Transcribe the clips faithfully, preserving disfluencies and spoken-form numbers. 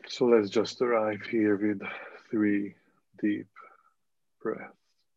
So let's just arrive here with three deep breaths.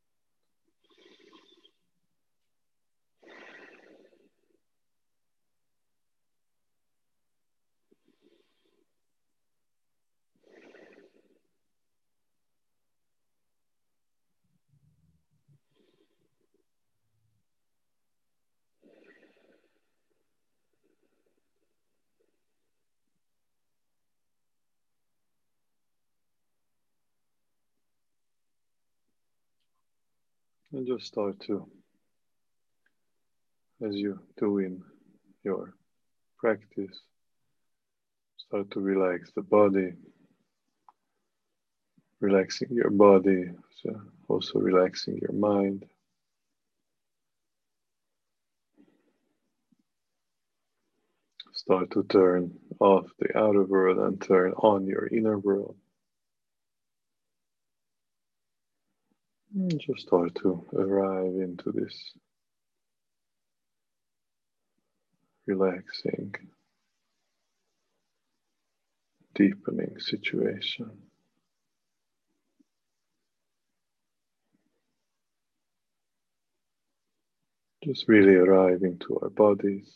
And just start to, as you do in your practice, start to relax the body, relaxing your body, so also relaxing your mind. Start to turn off the outer world and turn on your inner world. And just start to arrive into this relaxing, deepening situation. Just really arrive into our bodies.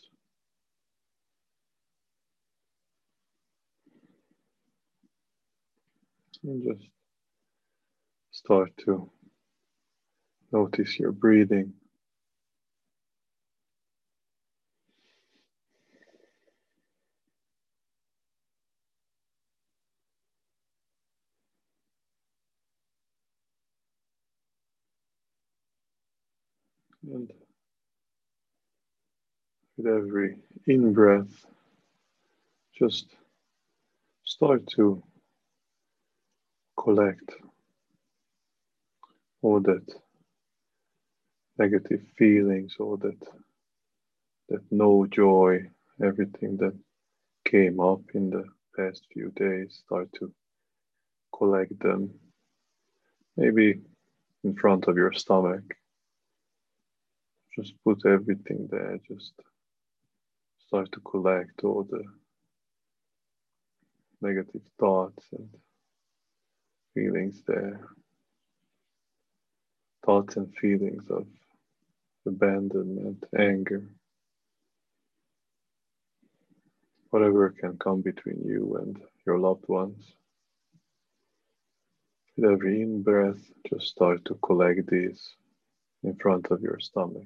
And just start to notice your breathing. And with every in breath, just start to collect all that negative feelings, all that that no joy, everything that came up in the past few days, start to collect them, maybe in front of your stomach. Just put everything there, just start to collect all the negative thoughts and feelings there, thoughts and feelings of abandonment, anger, whatever can come between you and your loved ones. With every in breath, just start to collect these in front of your stomach.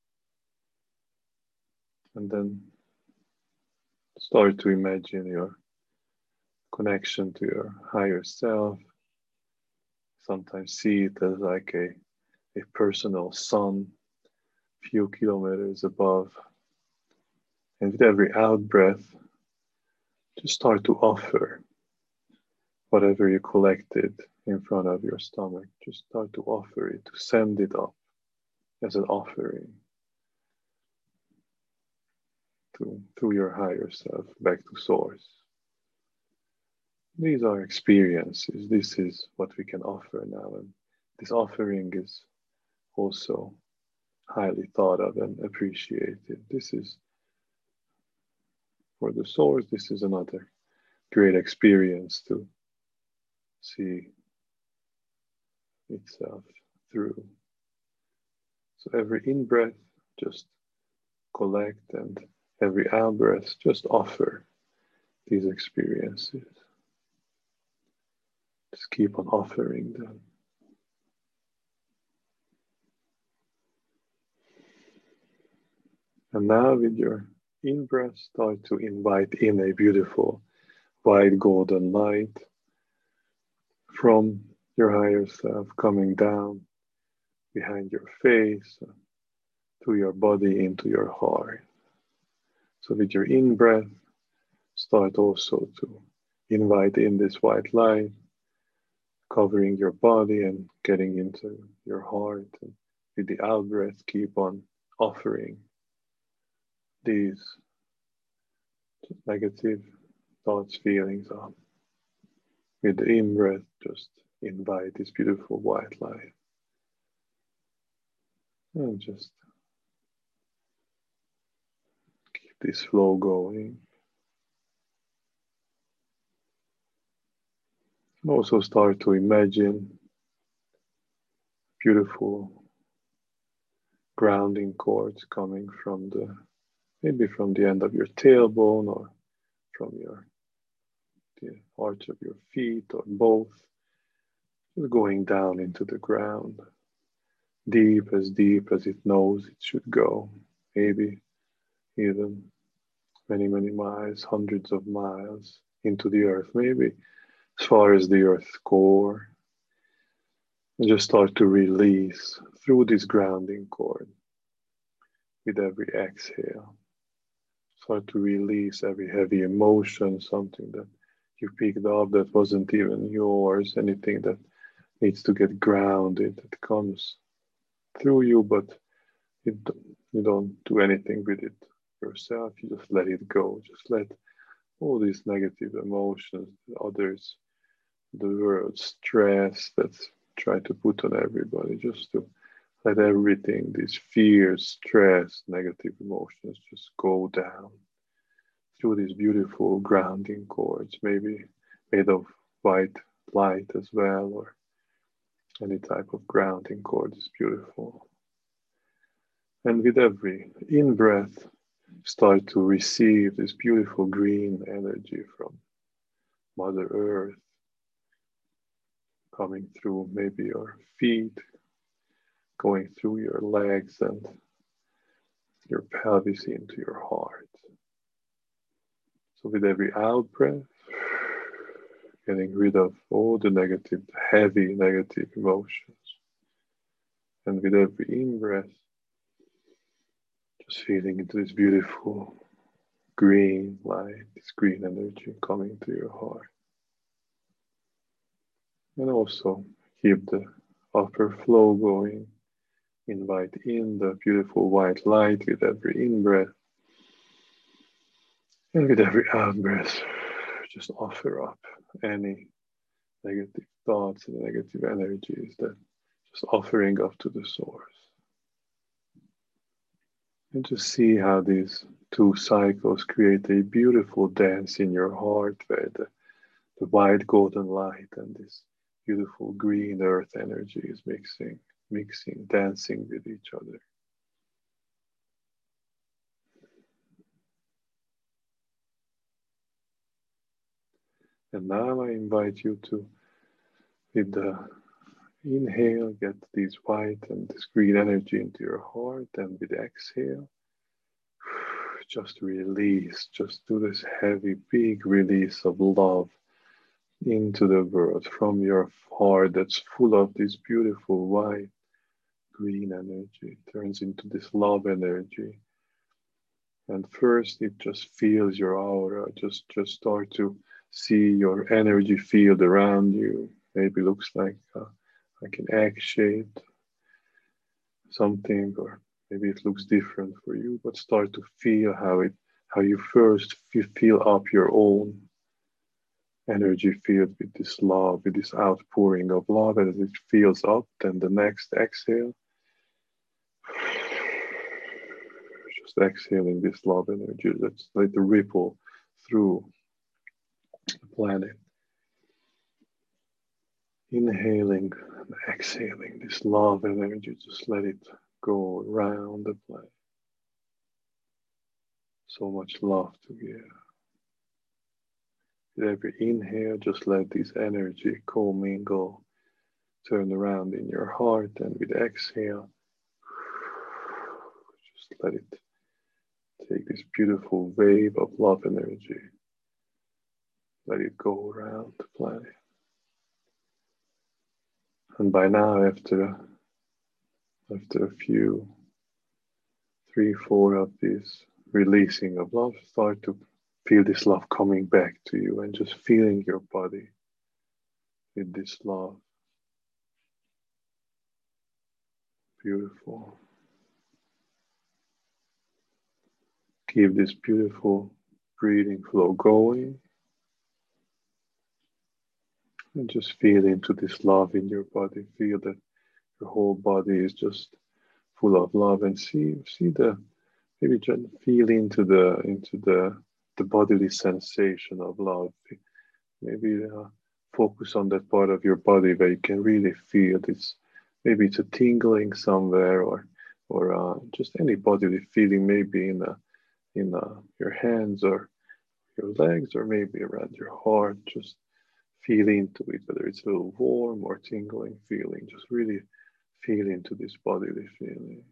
And then start to imagine your connection to your higher self. Sometimes see it as like a, a personal sun, few kilometers above. And with every out breath, just start to offer whatever you collected in front of your stomach. Just start to offer it, to send it up as an offering to, to your higher self, back to source. These are experiences. This is what we can offer now. And this offering is also highly thought of and appreciated. This is for the source, this is another great experience to see itself through. So every in breath, just collect, and every out breath, just offer these experiences. Just keep on offering them. And now with your in breath, start to invite in a beautiful white golden light from your higher self coming down behind your face, through your body, into your heart. So with your in breath, start also to invite in this white light, covering your body and getting into your heart. And with the out breath, keep on offering these negative thoughts, feelings on. With the in breath, just invite this beautiful white light. And just keep this flow going. Also start to imagine beautiful grounding cords coming from the, maybe from the end of your tailbone or from your the arch of your feet or both, just going down into the ground, deep as deep as it knows it should go, maybe even many, many miles, hundreds of miles into the earth, maybe as far as the earth's core. And just start to release through this grounding cord with every exhale. Start to release every heavy emotion, something that you picked up that wasn't even yours, anything that needs to get grounded, that comes through you, but it, you don't do anything with it yourself. You just let it go. Just let all these negative emotions, others, the world, stress that's tried to put on everybody, just to let everything, these fears, stress, negative emotions just go down through these beautiful grounding cords, maybe made of white light as well, or any type of grounding cord is beautiful. And with every in-breath, start to receive this beautiful green energy from Mother Earth, coming through maybe your feet, going through your legs and your pelvis into your heart. So with every out breath, getting rid of all the negative, heavy negative emotions. And with every in-breath, just feeling into this beautiful green light, this green energy coming to your heart. And also keep the upper flow going. Invite in the beautiful white light with every in-breath. And with every out-breath, just offer up any negative thoughts and negative energies that just offering up to the source. And just see how these two cycles create a beautiful dance in your heart where the, the white golden light and this beautiful green earth energy is mixing, mixing, dancing with each other. And now I invite you to, with the inhale, get this white and this green energy into your heart, and with exhale, just release, just do this heavy, big release of love into the world from your heart that's full of this beautiful white, green energy. It turns into this love energy. And first it just feels your aura, just, just start to see your energy field around you. Maybe looks like uh, like an egg-shaped something, or maybe it looks different for you, but start to feel how it, how you first feel up your own energy field with this love, with this outpouring of love, and as it feels up, then the next exhale, just exhaling this love energy. Let's let it ripple through the planet. Inhaling and exhaling this love energy, just let it go around the planet. So much love to give. With every inhale, just let this energy commingle, turn around in your heart, and with exhale, just let it take this beautiful wave of love energy. Let it go around the planet. And by now, after, after a few, three, four of these releasing of love, start to feel this love coming back to you and just feeling your body with this love. Beautiful. Keep this beautiful breathing flow going. And just feel into this love in your body. Feel that your whole body is just full of love, and see see the maybe just feel into the into the the bodily sensation of love. Maybe uh, focus on that part of your body where you can really feel this. Maybe it's a tingling somewhere, or or uh, just any bodily feeling, maybe in a, in a, your hands or your legs, or maybe around your heart. Just feel into it, whether it's a little warm or tingling feeling. Just really feel into this bodily feeling.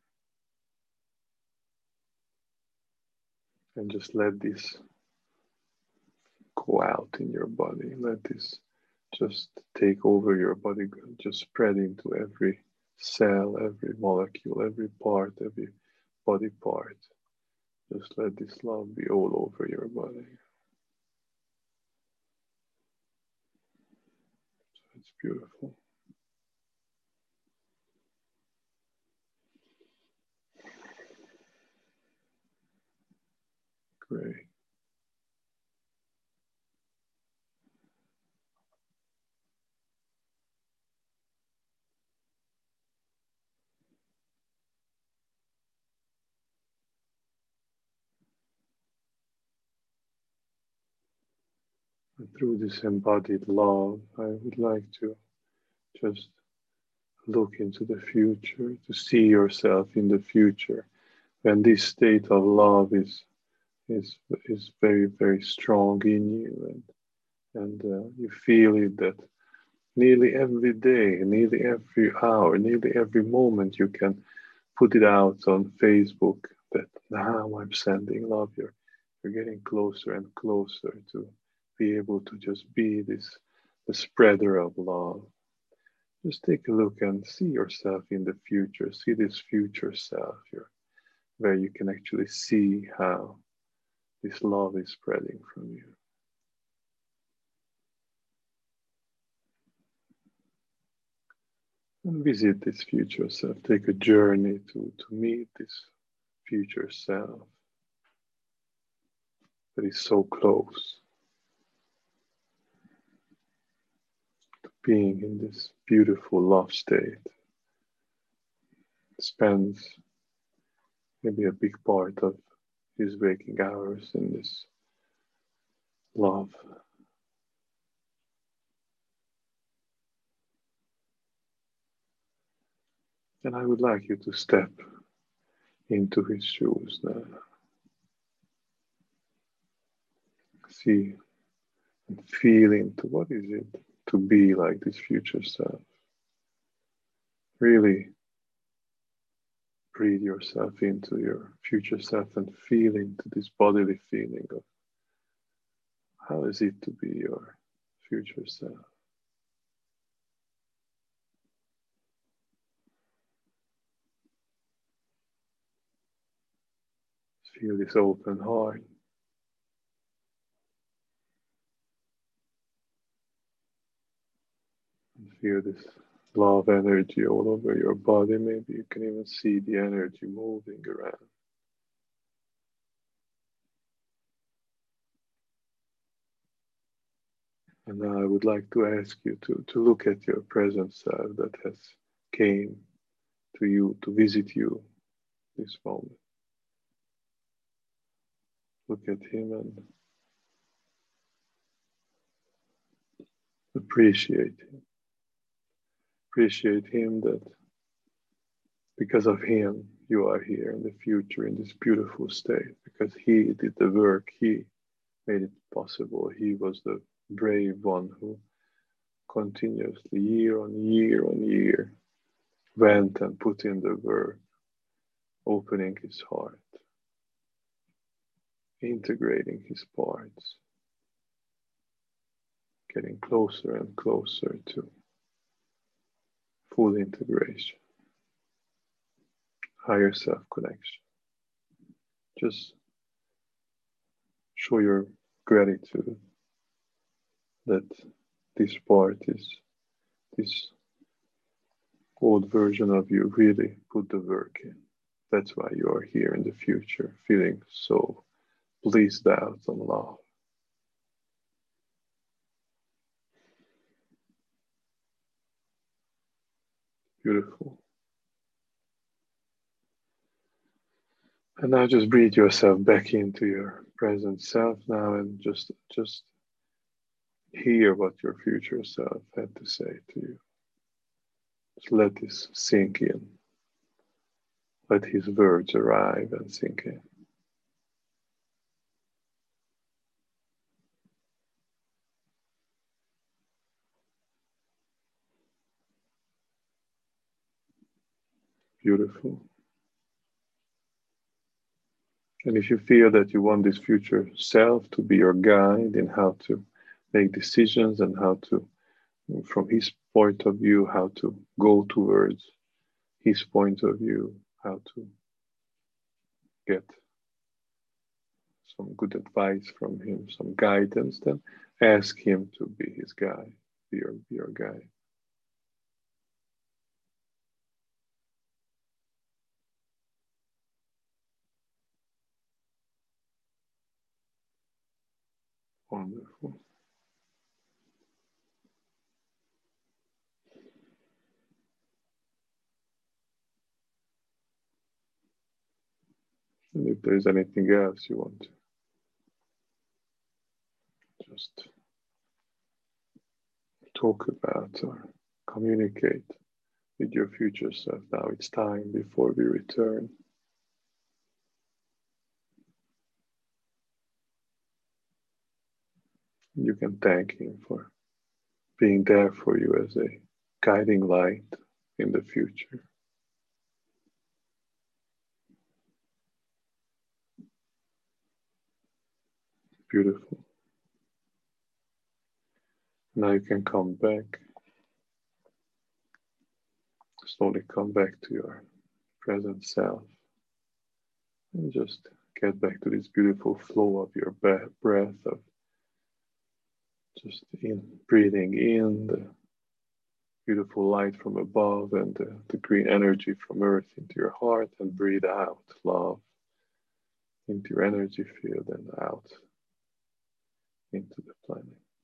And just let this go out in your body. Let this just take over your body, just spread into every cell, every molecule, every part, every body part. Just let this love be all over your body. It's beautiful. Great. And through this embodied love, I would like to just look into the future, to see yourself in the future, when this state of love is is is very, very strong in you, and and uh, you feel it that nearly every day, nearly every hour, nearly every moment you can put it out on Facebook that now I'm sending love. You're, you're getting closer and closer to be able to just be this the spreader of love. Just take a look and see yourself in the future. See this future self here, where you can actually see how this love is spreading from you. And visit this future self. Take a journey to, to meet this future self that is so close to being in this beautiful love state. Spends maybe a big part of his waking hours in this love. And I would like you to step into his shoes now. See and feel into what is it to be like this future self. Really breathe yourself into your future self and feel into this bodily feeling of how is it to be your future self. Feel this open heart. And feel this love energy all over your body. Maybe you can even see the energy moving around. And now I would like to ask you to, to look at your present self that has came to you, to visit you this moment. Look at him and appreciate him. Appreciate him that because of him you are here in the future in this beautiful state, because he did the work, he made it possible. He was the brave one who continuously, year on year on year, went and put in the work, opening his heart, integrating his parts, getting closer and closer to full integration, higher self connection. Just show your gratitude that this part is, this old version of you really put the work in. That's why you are here in the future, feeling so blissed out on love. Beautiful. And now just breathe yourself back into your present self now, and just just hear what your future self had to say to you. Just let this sink in. Let his words arrive and sink in. Beautiful. And if you feel that you want this future self to be your guide in how to make decisions and how to, from his point of view, how to go towards his point of view, how to get some good advice from him, some guidance, then ask him to be his guide, be your, be your guide. Wonderful. And if there's anything else you want to just talk about or communicate with your future self, now it's time before we return. You can thank him for being there for you as a guiding light in the future. Beautiful. Now you can come back. Slowly come back to your present self and just get back to this beautiful flow of your breath, of just in breathing in the beautiful light from above and the, the green energy from earth into your heart, and breathe out love into your energy field and out into the planet.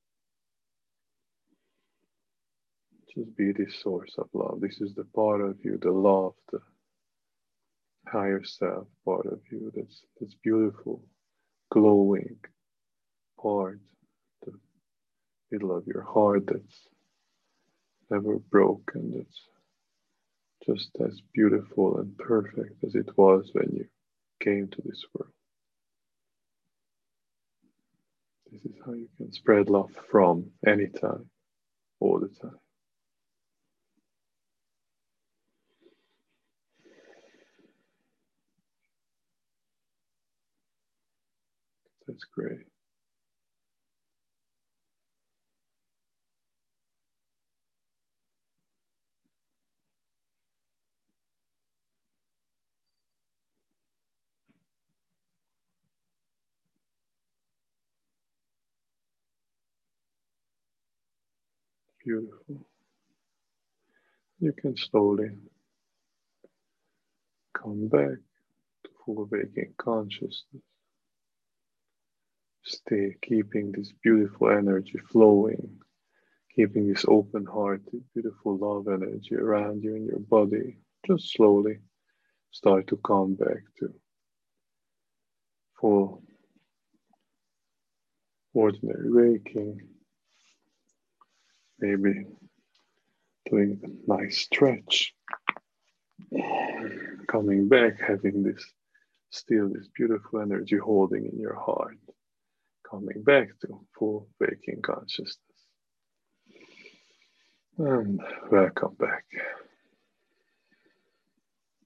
Just be this source of love. This is the part of you, the love, the higher self part of you, that's, that's beautiful, glowing part, the middle of your heart that's never broken, that's just as beautiful and perfect as it was when you came to this world. This is how you can spread love from anytime, all the time. That's great. Beautiful. You can slowly come back to full waking consciousness. Stay keeping this beautiful energy flowing, keeping this open-hearted, beautiful love energy around you in your body. Just slowly start to come back to full ordinary waking. Maybe doing a nice stretch. Coming back, having this still this beautiful energy holding in your heart. Coming back to full waking consciousness. And welcome back.